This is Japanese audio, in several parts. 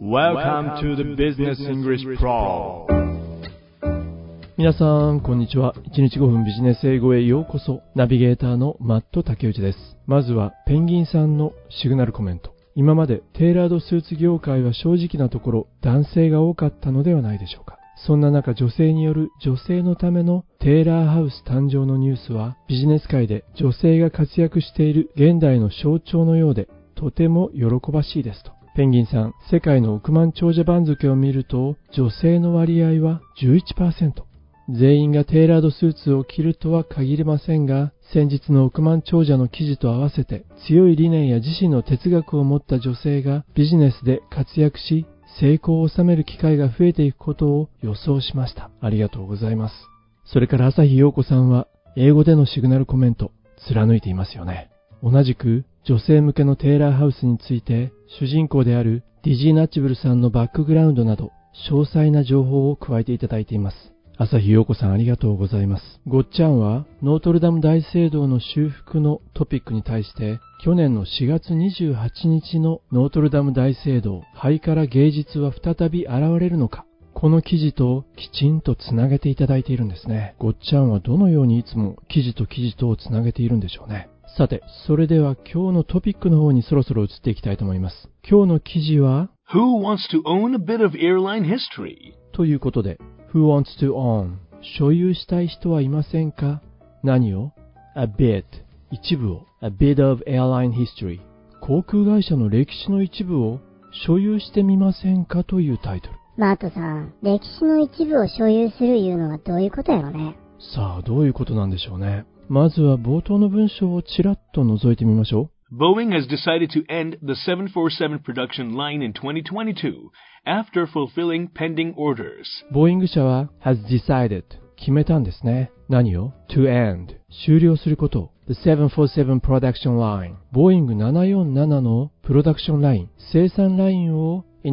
Welcome to the Business English Pro。 皆さんこんにちは。1日5分ビジネス英語へようこそ。ナビゲーターのマット竹内です。まずはペンギンさんのシグナルコメント。今までテーラードスーツ業界は正直なところ男性が多かったのではないでしょうか。そんな中、女性による女性のためのテーラーハウス誕生のニュースはビジネス界で女性が活躍している現代の象徴のようでとても喜ばしいですと。ペンギンさん、世界の億万長者番付を見ると女性の割合は 11%。全員がテーラードスーツを着るとは限りませんが、先日の億万長者の記事と合わせて強い理念や自身の哲学を持った女性がビジネスで活躍し成功を収める機会が増えていくことを予想しました。ありがとうございます。それから朝日陽子さんは英語でのシグナルコメント貫いていますよね。同じく女性向けのテーラーハウスについて主人公であるディジー・ナッチブルさんのバックグラウンドなど詳細な情報を加えていただいています。朝日陽子さん、ありがとうございます。ごっちゃんはノートルダム大聖堂の修復のトピックに対して去年の4月28日のノートルダム大聖堂灰から芸術は再び現れるのか、この記事ときちんとつなげていただいているんですね。ごっちゃんはどのようにいつも記事と記事とをつなげているんでしょうね。さて、それでは今日のトピックの方にそろそろ移っていきたいと思います。今日の記事は Who wants to own a bit of airline history? ということで、Who wants to own? 所有したい人はいませんか？何を？ A bit 一部を A bit of airline history 航空会社の歴史の一部を所有してみませんかというタイトル。 マートさん、歴史の一部を所有するいうのはどういうことやろね。 さあ、どういうことなんでしょうね。まずは冒頭の文章をちらっと覗いてみましょう。 Boeing has decided to end the 747 production line in 2022 after fulfilling pending orders. ボーイング社は has decided 決めたんですね。何を？ to end 終了すること。The 747 production line ボーイング747のプロダクションライン生産ラインを in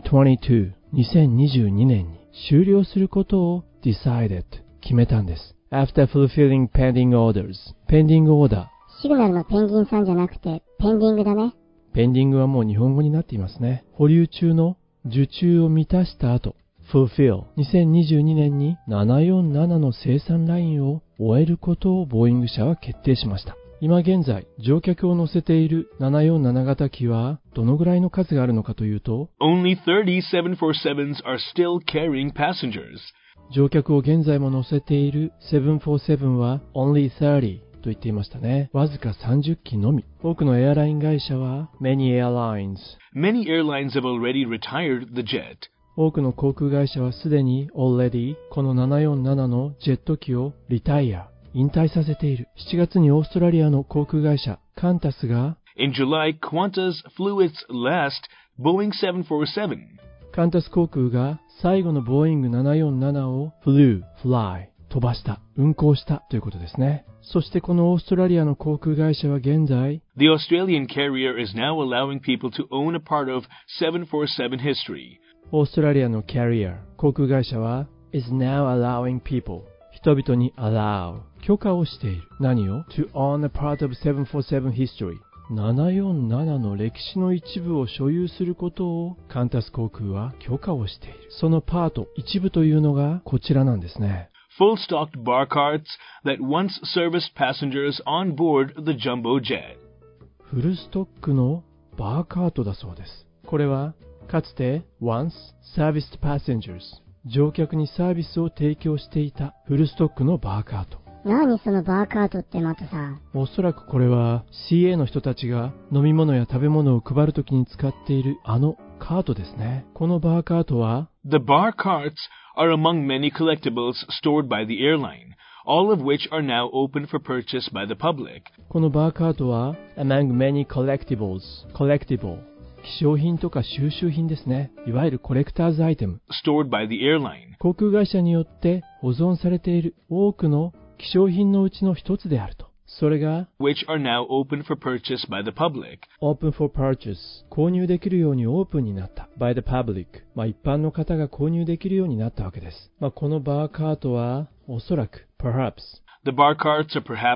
2022 2022年に終了することを decided 決めたんです。After fulfilling pending orders ペンディングオーダー。 シグナルのペンギンさんじゃなくてペンディングだね。 ペンディングはもう日本語になっていますね。保留中の受注を満たした後、fulfill 2022年に747の生産ラインを終えることをボーイング社は決定しました。今現在、乗客を乗せている747型機はどのぐらいの数があるのかというと、 Only 30 747s are still carrying passengers. 乗客を現在も乗せている747は only 30と言っていましたね。わずか30機のみ。多くのエアライン会社は Many airlines Many airlines have already retired the jet. 多くの航空会社はすでに already この747のジェット機をリタイア引退させている。7月にオーストラリアの航空会社カンタスが In July, Qantas flew its last Boeing 747. カンタス航空が最後のボーイング747を fly 飛ばした、運航したということですね。そしてこのオーストラリアの航空会社は現在 The Australian carrier is now allowing people to own a part of 747 history. オーストラリアのキャリア航空会社は is now allowing people 人々に allow 許可をしている。何を？ to own a part of 747 history 747の歴史の一部を所有することをカンタス航空は許可をしている。そのパート一部というのがこちらなんですね。 Full-stocked bar carts that once serviced passengers on board the jumbo jet. フルストックのバーカートだそうです。これはかつて once serviced passengers 乗客にサービスを提供していたフルストックのバーカート。 何そのバーカートってマトさん。 おそらくこれは CA の人たちが飲み物や食べ物を配るときに使っているあのカートですね。このバーカートは The bar carts are among many collectibles stored by the airline, all of which are now open for purchase by the public. このバーカートは among many collectible 希少品とか収集品ですね。いわゆるコレクターズアイテム stored by the airline. 航空会社によって保存されている多くの希少品のうちの一つであると。それが which are now open for purchase by the public. Open for purchase 購入できるようにオープンになった by the public 一般の方が購入できるようになったわけです。このバーカートはおそらく perhaps The bar carts are perhaps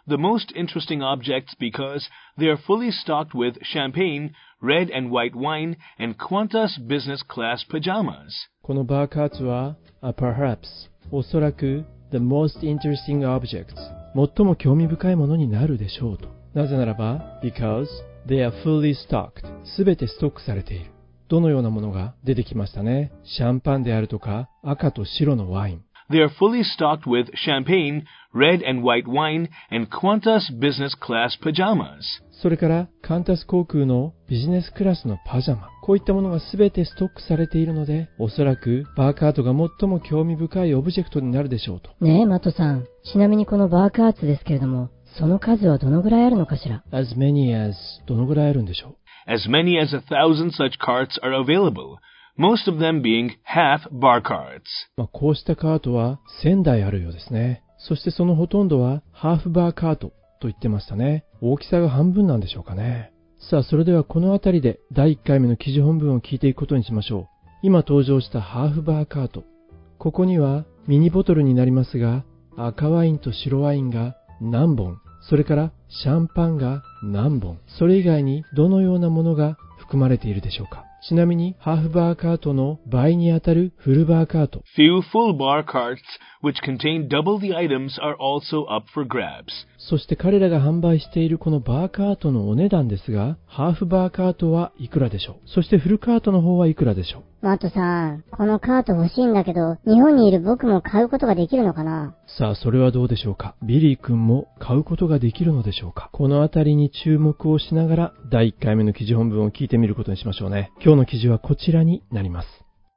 the most interesting objects because they are fully stocked with champagne, red and white wine, and Qantas business class pajamas. このバーカーツは、perhaps おそらく the most interesting objects 最も興味深いものになるでしょうと。なぜならば because they are fully stocked すべてストックされている。どのようなものが出てきましたね。シャンパンであるとか赤と白のワイン。 They are fully stocked with champagne, red and white wine, and Qantas business class pajamas. それからカンタス航空のビジネスクラスのパジャマ。こういったものがすべてストックされているので、おそらくバーカートが最も興味深いオブジェクトになるでしょうと。 ねえ、マットさん。ちなみにこのバーカーツですけれども、その数はどのぐらいあるのかしら？ as many as どのぐらいあるんでしょう？ As many as 1,000 such carts are available, most of them being half bar carts. こうしたカートは1000台あるようですね。そしてそのほとんどはハーフバーカートと言ってましたね。大きさが半分なんでしょうかね。さあ、それではこのあたりで第1回目の記事本文を聞いていくことにしましょう。今登場したハーフバーカート。ここにはミニボトルになりますが、赤ワインと白ワインが何本、それからシャンパンが何本、それ以外にどのようなものが含まれているでしょうか。ちなみにハーフバーカートの倍にあたるフルバーカート。 Few full bar carts which contain double the items are also up for grabs. そして彼らが販売しているこのバーカートのお値段ですが、ハーフバーカートはいくらでしょう？そしてフルカートの方はいくらでしょう？ マットさん、このカート欲しいんだけど、日本にいる僕も買うことができるのかな？ さあ、それはどうでしょうか。ビリー君も買うことができるのでしょうか。このあたりに注目をしながら、第1回目の記事本文を聞いてみることにしましょうね。今日の記事はこちらになります。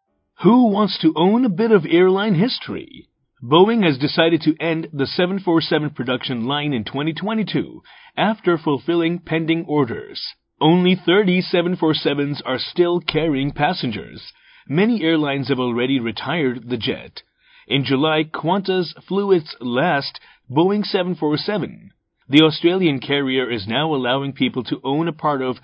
Who wants to own a bit of airline history? Boeing has decided to end the 747 production line in 2022 after fulfilling pending orders. Only 30 747s are still carrying passengers. Many airlines have already retired the jet. In July, Qantas flew its last Boeing 747. The Australian carrier is now allowing people to own a part of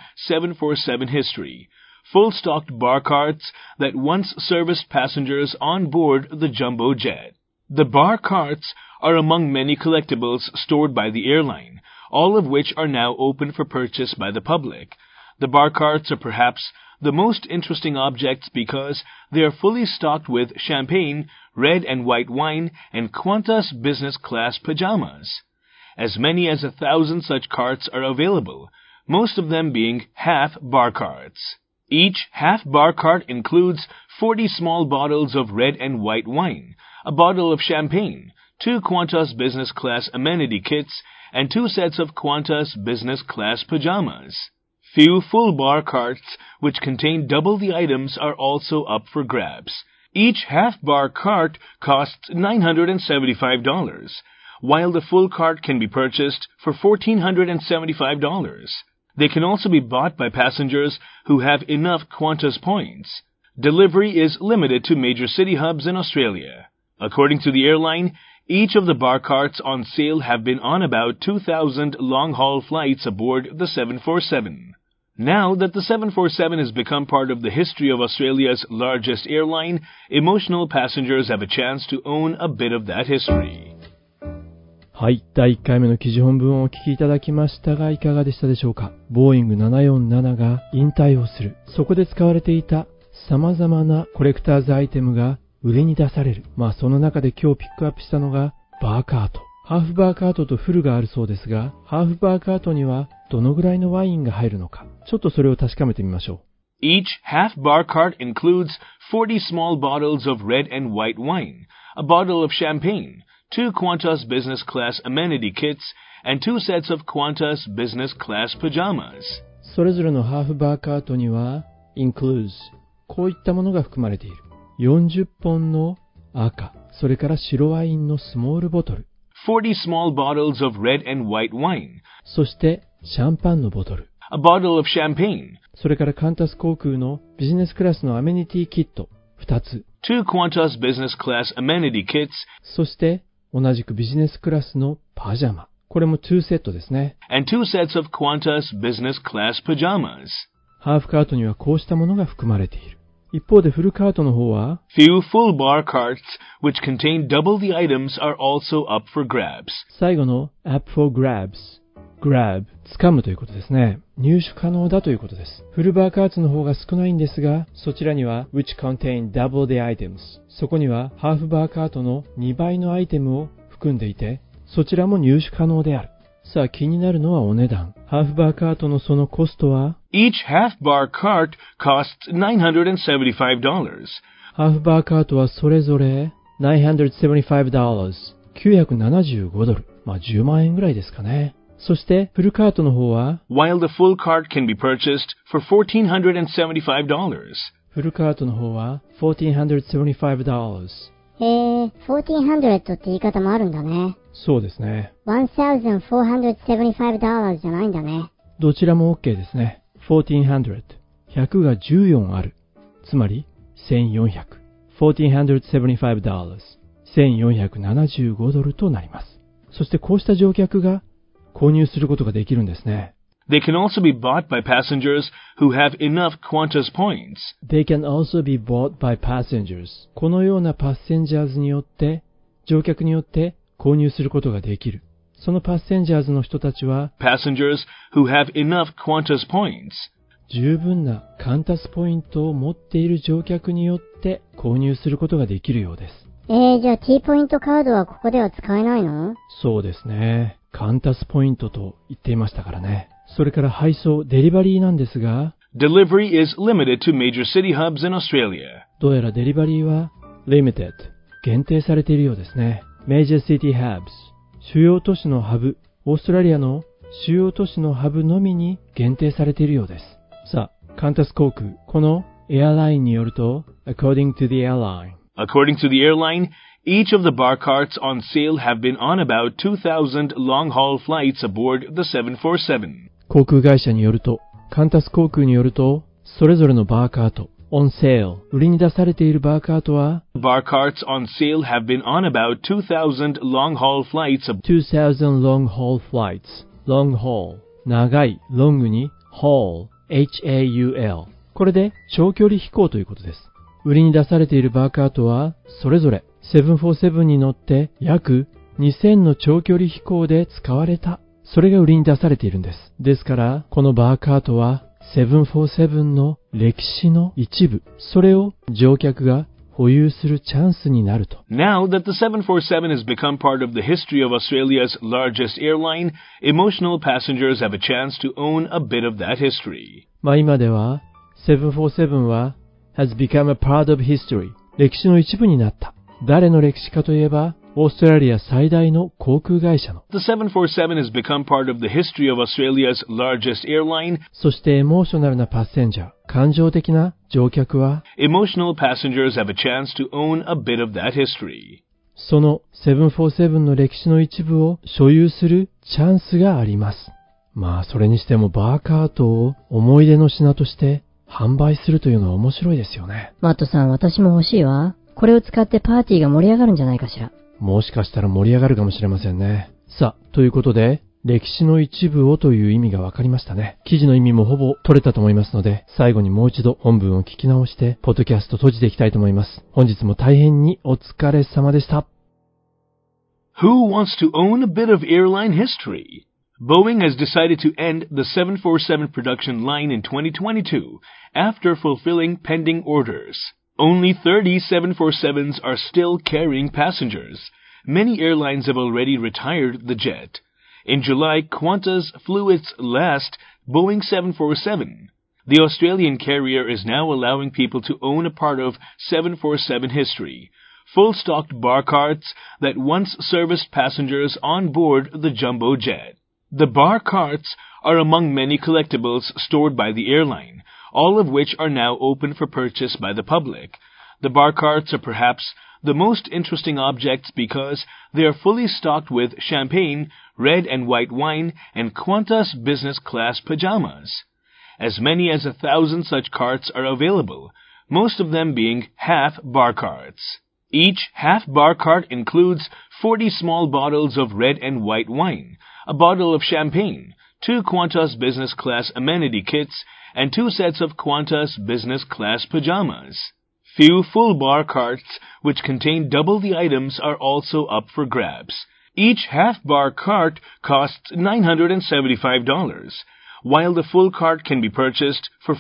747 history, full-stocked bar carts that once serviced passengers on board the jumbo jet. The bar carts are among many collectibles stored by the airline, all of which are now open for purchase by the public. The bar carts are perhaps the most interesting objects because they are fully stocked with champagne, red and white wine, and Qantas business class pajamas. As many as 1,000 such carts are available, most of them being half bar carts. Each half bar cart includes 40 small bottles of red and white wine, a bottle of champagne, 2 Qantas business class amenity kits, and 2 sets of Qantas business class pajamas. Few full bar carts which contain double the items are also up for grabs. Each half bar cart costs $975, while the full cart can be purchased for $1,475. They can also be bought by passengers who have enough Qantas points. Delivery is limited to major city hubs in Australia. According to the airline, each of the bar carts on sale have been on about 2,000 long-haul flights aboard the 747. Now that the 747 has become part of the history of Australia's largest airline, emotional passengers have a chance to own a bit of that history. はい、第1回目の記事本文をお聞きいただきましたがいかがでしたでしょうか。ボーイング747が引退をする。そこで使われていた様々なコレクターズアイテムが売りに出される。その中で今日ピックアップしたのがバーカート。ハーフバーカートとフルがあるそうですが、ハーフバーカートにはどのぐらいのワインが入るのか、ちょっとそれを確かめてみましょう。 Each half bar cart includes 40 small bottles of red and white wine, a bottle of champagne, 2 Qantas business class amenity kits, and 2 sets of Qantas business class pajamas. それぞれのハーフバーカートには includes こういったものが含まれている。40本の赤、それから白ワインのスモールボトル。 40 small bottles of red and white wine. そしてシャンパンのボトル。 A bottle of champagne. それからカンタス航空のビジネスクラスのアメニティキット2つ。 2 Qantas business class amenity kits. そして同じくビジネスクラスのパジャマ。これも2セットですね。 And 2 sets of Qantas business class pajamas. ハーフカートにはこうしたものが含まれている。 一方でフルカートの方は、 Few full bar carts which contain double the items are also up for grabs. 最後の up for grabs。grab、掴むということですね。入手可能だということです。フルバーカーツの方が少ないんですが、そちらには which contain double the items。そこにはハーフバーカートの2倍のアイテムを含んでいて、そちらも入手可能である。さあ気になるのはお値段。ハーフバーカートのそのコストは、 Each half bar cart costs $975. ハーフバーカートはそれぞれ$975。$975。10万円ぐらいですかね。そしてフルカートの方は、 while the full cart can be purchased for $1,475. フルカートの方は$1,475。 $1,400って言い方もあるんだね。 そうですね。 $1,475じゃないんだね。 どちらも OK ですね。$1,400。100が14ある。つまり$1,400。$1,475。$1,475となります。そしてこうした乗客が購入することができるんですね。 They can also be bought by passengers who have enough Qantas points. They can also be bought by passengers. このようなパッセンジャーズによって、乗客によって購入することができる。そのパッセンジャーズの人たちは、 Passengers who have enough Qantas points. 十分なカンタスポイントを持っている乗客によって購入することができるようです。 じゃあ T ポイントカードはここでは使えないの？ そうですね。カンタスポイントと言っていましたからね。それから配送、デリバリーなんですが、 Delivery is limited to major city hubs in Australia. どうやらデリバリーは limited、限定されているようですね。Major city hubs、主要都市のハブ、オーストラリアの主要都市のハブのみに限定されているようです。さあ、カンタス航空、このエアラインによると、according to the airline、 According to the airline, each of the bar carts on sale have been on about 2,000 long-haul flights aboard the 747. 航空会社によると、カンタス航空によると、それぞれのバーカート、on sale、売りに出されているバーカートは、 Bar carts on sale have been on about 2,000 long-haul flights aboard 2,000 long-haul flights、long haul、長い、ロングに、haul、H-A-U-L。これで長距離飛行ということです。売りに出されているバーカートは、それぞれ747に乗って約2000の長距離飛行で使われた。それが売りに出されているんです。ですから、このバーカートは747の歴史の一部、それを乗客が保有するチャンスになると。 Now that the 747 has become part of the history of Australia's largest airline, emotional passengers have a chance to own a bit of that history. 今では、747はhas become a part of history。歴史の一部になった。誰の歴史かといえば、オーストラリア最大の航空会社の。 The 747 has become part of the history of Australia's largest airline. そしてエモーショナルなパッセンジャー、感情的な乗客は、 Emotional passengers have a chance to own a bit of that history. その747の歴史の一部を所有するチャンスがあります。それにしてもバーカートを思い出の品として販売するというのは面白いですよね。 マットさん、私も欲しいわ。これを使ってパーティーが盛り上がるんじゃないかしら。 もしかしたら盛り上がるかもしれませんね。さあ、ということで、歴史の一部をという意味が分かりましたね。記事の意味もほぼ取れたと思いますので、最後にもう一度本文を聞き直して、ポッドキャスト閉じていきたいと思います。本日も大変にお疲れ様でした。 Who wants to own a bit of airline history? Boeing has decided to end the 747 production line in 2022 after fulfilling pending orders. Only 30 747s are still carrying passengers. Many airlines have already retired the jet. In July, Qantas flew its last Boeing 747. The Australian carrier is now allowing people to own a part of 747 history, full-stocked bar carts that once serviced passengers on board the jumbo jet. The bar carts are among many collectibles stored by the airline, all of which are now open for purchase by the public. The bar carts are perhaps the most interesting objects because they are fully stocked with champagne, red and white wine, and Qantas business class pajamas. As many as 1,000 such carts are available, most of them being half bar carts. Each half bar cart includes 40 small bottles of red and white wine, a bottle of champagne, 2 Qantas business class amenity kits, and 2 sets of Qantas business class pajamas. Few full bar carts which contain double the items are also up for grabs. Each half-bar cart costs $975, while the full cart can be purchased for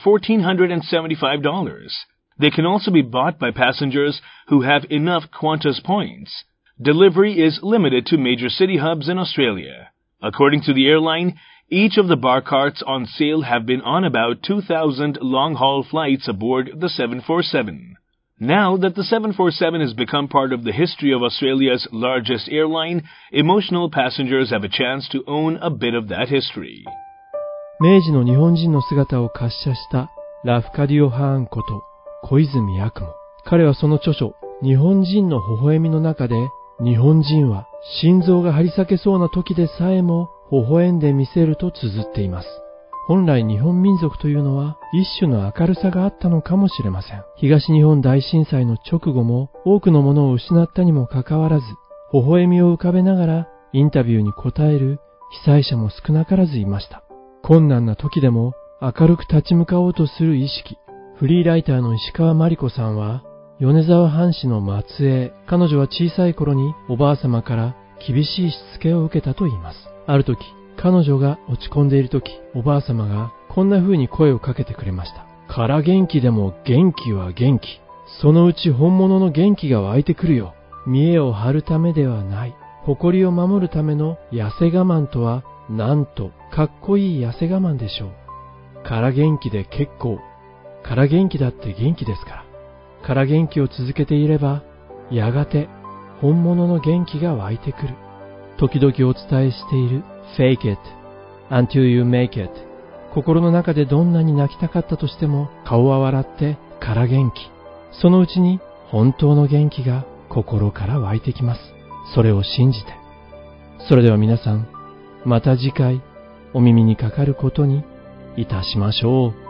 $1,475. They can also be bought by passengers who have enough Qantas points. Delivery is limited to major city hubs in Australia. According to the airline, each of the bar carts on sale have been on about 2,000 long-haul flights aboard the 747. Now that the 747 has become part of the history of Australia's largest airline, emotional passengers have a chance to own a bit of that history. 明治の日本人の姿を滑車したラフカディオ・ハーンこと小泉八雲。彼はその著書、日本人の微笑みの中で、日本人は心臓が張り裂けそうな時でさえも微笑んでみせると綴っています。本来日本民族というのは一種の明るさがあったのかもしれません。東日本大震災の直後も多くのものを失ったにもかかわらず、微笑みを浮かべながらインタビューに答える被災者も少なからずいました。困難な時でも明るく立ち向かおうとする意識。フリーライターの石川真理子さんは、米沢藩士の末裔。彼女は小さい頃におばあ様から厳しいしつけを受けたと言います。ある時、彼女が落ち込んでいる時、おばあ様がこんな風に声をかけてくれました。から元気でも元気は元気。そのうち本物の元気が湧いてくるよ。見栄を張るためではない。誇りを守るための痩せ我慢とは、なんとかっこいい痩せ我慢でしょう。から元気で結構。から元気だって元気ですから。から元気を続けていれば、やがて本物の元気が湧いてくる。時々お伝えしている Fake it until you make it。心の中でどんなに泣きたかったとしても顔は笑ってから元気。そのうちに本当の元気が心から湧いてきます。それを信じて。それでは皆さん、また次回お耳にかかることにいたしましょう。